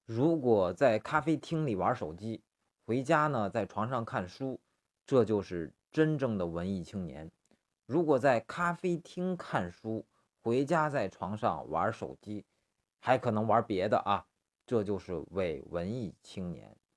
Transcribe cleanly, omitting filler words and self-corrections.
如果在咖啡厅里玩手机，回家呢在床上看书，这就是真正的文艺青年。如果在咖啡厅看书，回家在床上玩手机，还可能玩别的啊，这就是伪文艺青年。